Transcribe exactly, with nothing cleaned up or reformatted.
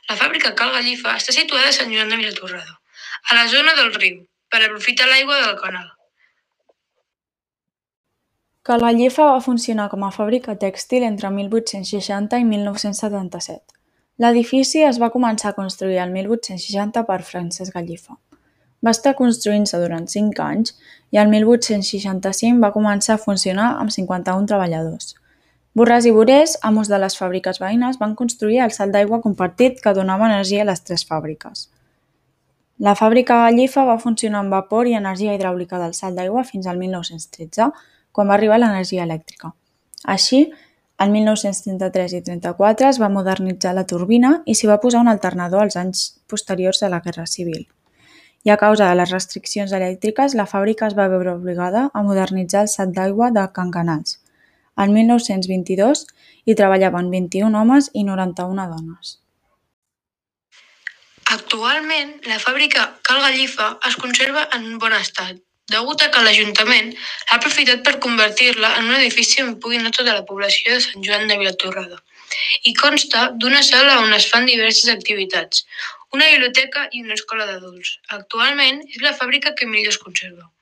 La fàbrica Cal Gallifa està situada a Sant Joan de Vilatorrada, a la zona del riu, per aprofitar l'aigua del canal. Cal Gallifa va funcionar com a fàbrica tèxtil entre mil vuit-cents seixanta i mil nou-cents setanta-set. L'edifici es va començar a construir el mil vuit-cents seixanta per Francesc Gallifa. Va estar construint-se durant cinc anys i el mil vuit-cents seixanta-cinc va començar a funcionar amb cinquanta-un treballadors. Borràs i Borés, amos de les fàbriques veïnes, van construir el salt d'aigua compartit que donava energia a les tres fàbriques. La fàbrica Gallifa va funcionar amb vapor i energia hidràulica del salt d'aigua fins al mil nou-cents tretze, quan va arribar l'energia elèctrica. Així, el mil nou-cents trenta-tres i trenta-quatre es va modernitzar la turbina i s'hi va posar un alternador als anys posteriors de la Guerra Civil. I a causa de les restriccions elèctriques, la fàbrica es va veure obligada a modernitzar el salt d'aigua de Can Canals. El mil nou-cents vint-i-dos hi treballaven vint-i-un homes i noranta-una dones. Actualment, la fàbrica Cal Gallifa es conserva en bon estat, degut a que l'Ajuntament l'ha aprofitat per convertir-la en un edifici on pugui anar tota la població de Sant Joan de Vilatorrada. I consta d'una sala on es fan diverses activitats, una biblioteca i una escola d'adults. Actualment és la fàbrica que millor es conserva.